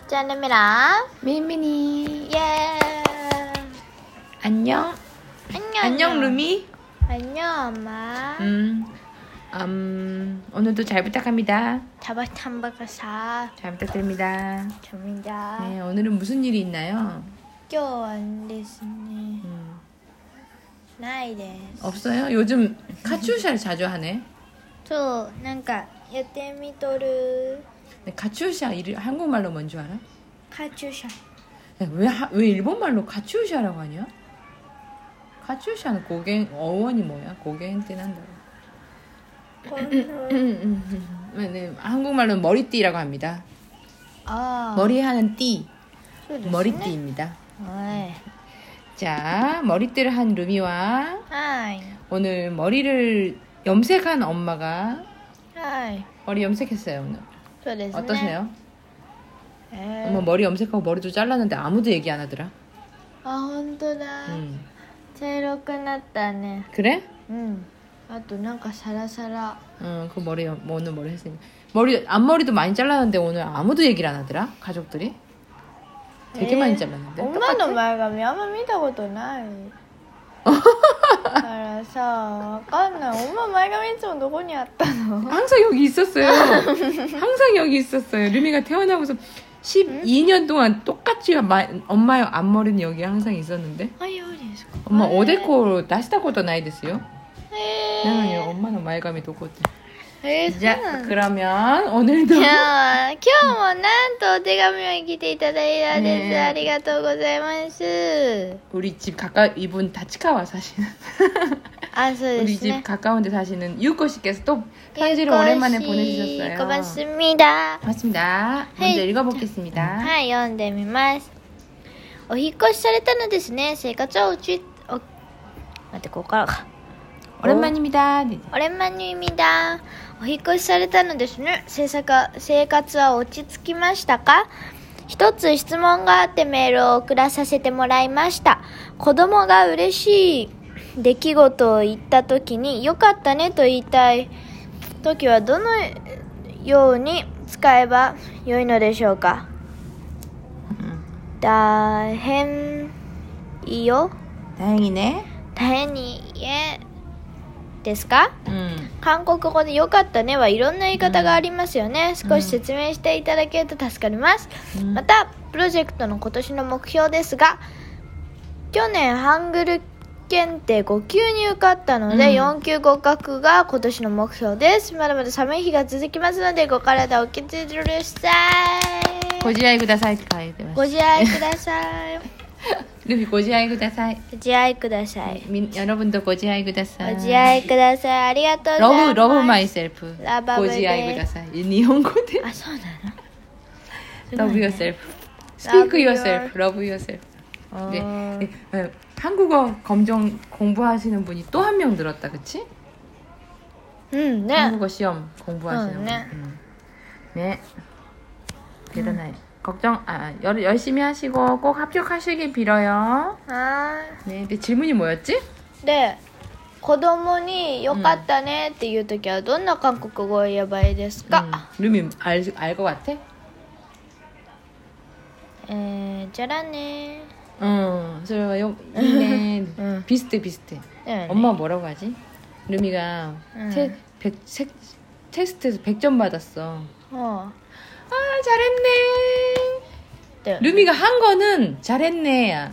짠입니다. 미미니. 예. 안녕. 안녕 루미. 안녕 엄마. 오늘도 잘 부탁합니다. 타박탐박사. 잘 부탁드립니다. 접니다. 네, 오늘은 무슨 일이 있나요? 今日はですね。 ないです。 없어요? 요즘 카츄샤를 자주 하네. そうなんかやってみとる。 카츄샤 한국말로 뭔 줄 알아? 카츄샤. 왜 일본말로 카츄샤라고 하냐? 카츄샤는 고갱 어원이 뭐야? 고갱 띠난다. 네, 한국말로는 머리띠라고 합니다. 아. 머리에 하는 띠. そうですね。 머리띠입니다. はい。 자, 머리띠를 한 루미와 はい。 오늘 머리를 염색한 엄마가 はい。 머리 염색했어요 오늘. そうですね。 어떠세요? 엄마 머리 염색하고 머리도 잘랐는데 아무도 얘기 안 하더라. あ、本当だ。 茶色くなったね。 그래? うん。あとなんかサラサラ。 그 머리 오늘 머리 했으니 앞머리도 많이 잘랐는데 오늘 아무도 얘기를 안 하더라. 가족들이 되게 많이 잘랐는데. 엄마の前髪あんま見たことない。だからさ、わかんない。엄마前髪いつもどこにあったの？ 항상 여기 있었어요. 항상 여기 있었어요. 루미가 태어나고서 12년 동안 똑같이 엄마의 앞머리는 여기 항상 있었는데. あ、そうですか。 엄마 오데코 나시다ことないですよ. へ 나는 엄마는 말감이 도코트. え。 자, 그러면 오늘도 今日もなんとお手紙を来ていただいたんです。 네. ありがとうございます。 우리 집 가까이 이분 다치카와 사시는 あ、そうで 우리 す 집 ね。 가까운데 사시는 유코 씨께서 또 편지를 오랜만에 보내주셨어요. 고맙습니다. 고맙습니다. 먼저 헤이. 읽어보겠습니다. はい、読んでみます。お引っ越しされたのですね。生活は待って、ここからか。 오랜만입니다. 네. 오랜만입니다. お引っ越しされたのですね。生活は落ち着きましたか？一つ質問があってメールを送らさせてもらいました。子供が嬉しい出来事を言った時によかったねと言いたい時はどのように使えばよいのでしょうか？大変いいよ。 다행이네. 大変にですか？ 음. 韓国語で良かったねはいろんな言い方がありますよね。少し説明していただけると助かります。またプロジェクトの今年の目標ですが、去年ハングル検定5級に受かったので、4級合格が今年の目標です。まだまだ寒い日が続きますのでご体お気をつけください。 고지아이 구다사이って書いてます。 ご自愛ください。 루비 고지아이 구다사이. ご自愛ください。 여러분도 고지아이 구다사이. ご自愛ください。ありがとうございます。 러브 마이셀프. 러브 고지아이 구다사이. 일본어대. あ、そうなの？ Love yourself. Speak yourself. Love yourself. 네. 네. 한국어 검정 공부하시는 분이 또 한 명 늘었다, 그치? 네. 한국어 시험 공부하시는 네. 분. 네. 대단해. 열심히 하시고 꼭 합격하시길 빌어요. 아. 네. 근데 질문이 뭐였지? で、子供に良かったねっていう時はどんな韓国語を言えばいいですか？ 루미 알 것 같아? じゃらね。 그래요. 이네. 비슷해. 네. 엄마 뭐라고 하지? 루미가 테스트에서 100점 받았어. 아, 잘했네. 네. 루미가 한 거는 잘했네.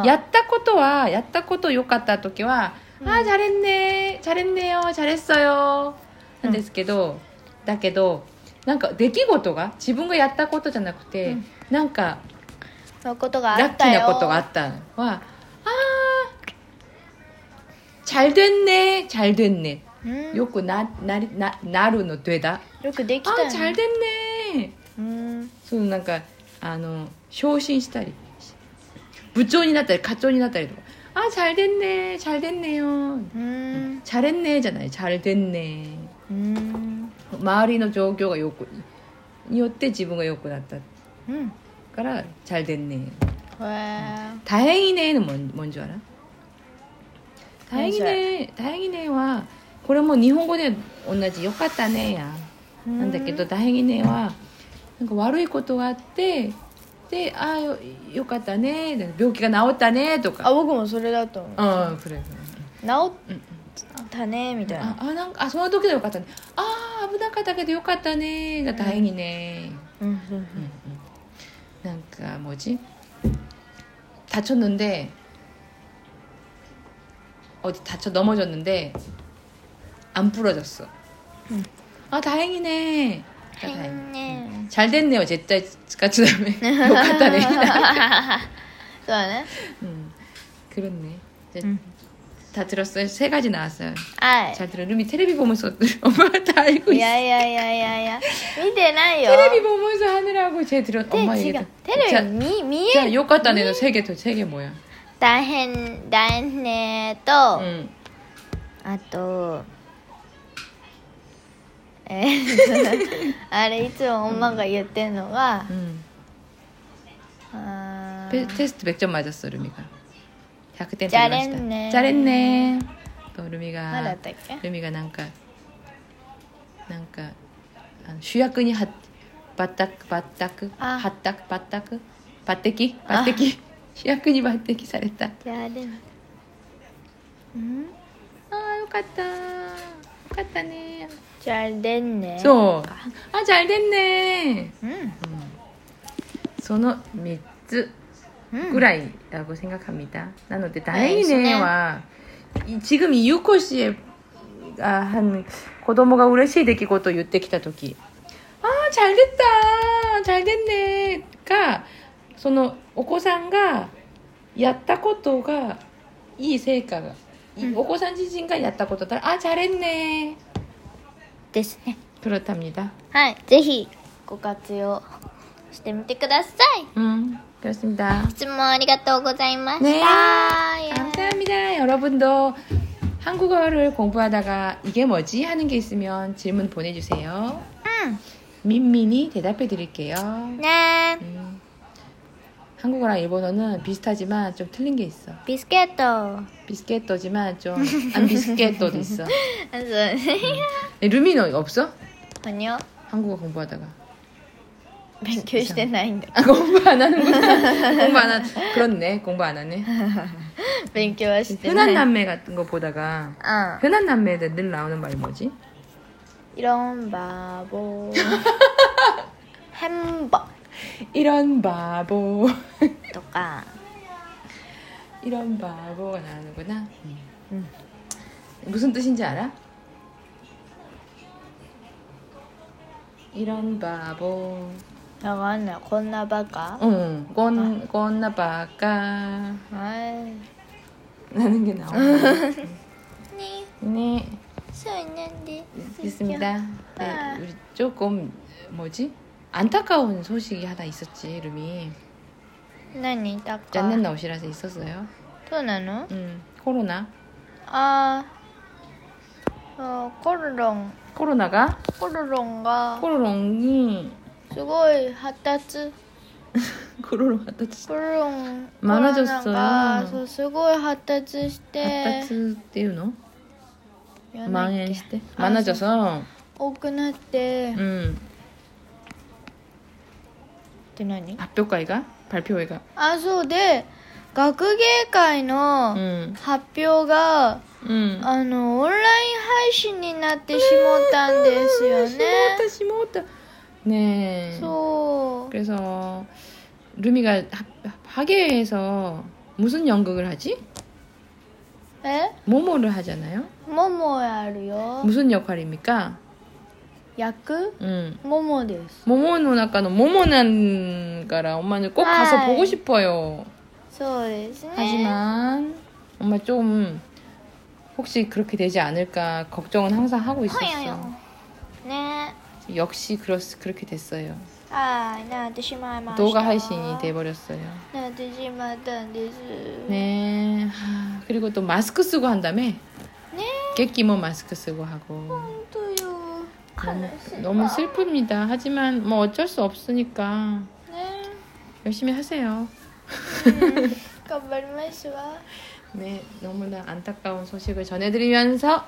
야ttaこと 욕 같다 時は 아, 잘했네요. 잘했어요. なんですけど、だけどなんか出来事が自分がやったことじゃなくて、なんかそういうことがあラッキーったよ。 なことがあったのは、잘 됐네. よくなるの되다. よくできたよね。 잘 됐네. そのなんか昇進したり部長になったり課長になったりとか잘 됐네요. 잘했네じゃない 잘 됐네. 周りの状況がによって自分が良くなったから잘 됐네. 다행이네는 뭔지 알아? 다행이네はこれも日本語で同じよかったねやなんだけど、大変ねはなんか悪いことがあってでよかったね病気が治ったねとか僕もそれだと思う。 그래 治ったねみたいな。 なんかその時でよかったね危なかったけどよかったねが다행이네なんか뭐지 다쳤는데 어디 넘어졌는데 안 부러졌어. 다행이네. 잘 됐네요. 제짜 같이 다음에 욕했다네. 그러네. 그렇네. 다 들었어요. 3가지 나왔어요. 잘 들어. 루미 테레비 보면서 엄마가 다 알고 있어. 야야야야야. 見てないよ. 테레비 보면서 하느라고 제 들어. 엄마 얘기. 테레비 미에. 자, 욕했다네. 너 3개 뭐야? 大変と、あとあれいつも엄마가言ってんのが、 테스트 100점 맞았어 루미가 100点 잘했네. 또 루미가なんか主役に抜擢主役に抜擢された。よかったね。 잘 됐네. そう잘 됐네. その3つぐらい라고 생각합니다. なので다행이네와 지금 이유코 씨가 한子供が嬉しい出来事を言ってきた時잘 됐다 잘 됐네가 そのお子さんがやったことがいい成果が、お子さん自身がやったことだったら잘했네 ですね。 그렇답니다. はい、ぜひご活用してみてください。 그렇습니다. 質問ありがとうございました。 네, 감사합니다. 여러분도 한국어를 공부하다가 이게 뭐지 하는 게 있으면 질문 보내주세요. 민민이 대답해 드릴게요. 네. 한국어랑 일본어는 비슷하지만 좀 틀린 게 있어. 비스켓토지만 좀 안 비스켓토도 있어. 루미는 없어? 아니요. 한국어 공부하다가. 勉強してないんだ. 공부 안 하는구나. 공부 안 하. 그렇네. 공부 안 하네. 勉強はしてない. 흔한 남매 같은 거 보다가 흔한 남매들 늘 나오는 말이 뭐지? 이런 바보. 햄버. 이런 바보. とか 이런 바보가 나오는구나. 무슨 뜻인지 알아? 이런 바보. わかんない。こんなバカ? 꼰나 바까. 라는 게 나오네. 네. 있습니다. 네, 우리 조금 뭐지? 안타까운 소식이 하나 있었지, 루미. 何だか 짠낸 나오시라서 있었어요. そうなの? 코로나. 코로나가 코로롱이 すごい発達 코로롱発達 많아졌어요. そうすごい発達して発達っていうの? 망했을 많아져서 多くなって って何? 발표회가? そうで学芸会の発表が、オンライン配信になってしもったんですよね。 しもった。네. 그래서 루미가 학예회에서 무슨 연극을 하지? 모모를 하잖아요. 모모야르요. 무슨 역할입니까? 役? 모모です. 모모는 아까는 모모난 거라 엄마는 꼭 가서 보고 싶어요. そうですね. 하지만 엄마 좀 혹시 그렇게 되지 않을까 걱정은 항상 하고 있었어. 네. 역시 그렇게 됐어요. なってしまいました. 動画配信이 돼버렸어요. なってしまったんです. 네. 그리고 또 마스크 쓰고 한다며? 네. 객기모 마스크 쓰고 하고. 혼또요. 너무 슬픕니다. 하지만 뭐 어쩔 수 없으니까. 네. 열심히 하세요. 頑張りますわ. 네, 너무나 안타까운 소식을 전해드리면서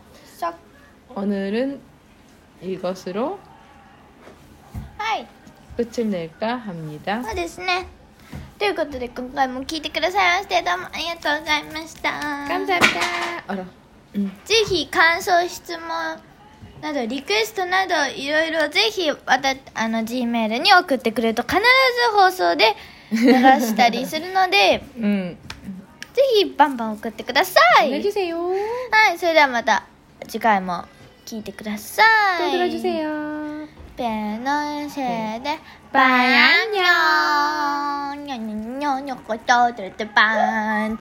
오늘은 이것으로 끝을 낼까 합니다. そうですね。ということで今回も聞いてくださいましてどうもありがとうございました。 감사합니다. 알아. ぜひ感想質問などリクエストなどいろいろぜひG メールに送ってくれると必ず放送で流したりするので、ぜひバンバン送ってください。 보내주세요. はい、それではまた次回も聞いてください。 또 들어주세요. ペのせいでバイアンニョンニョニョニョニョコトトルトバーン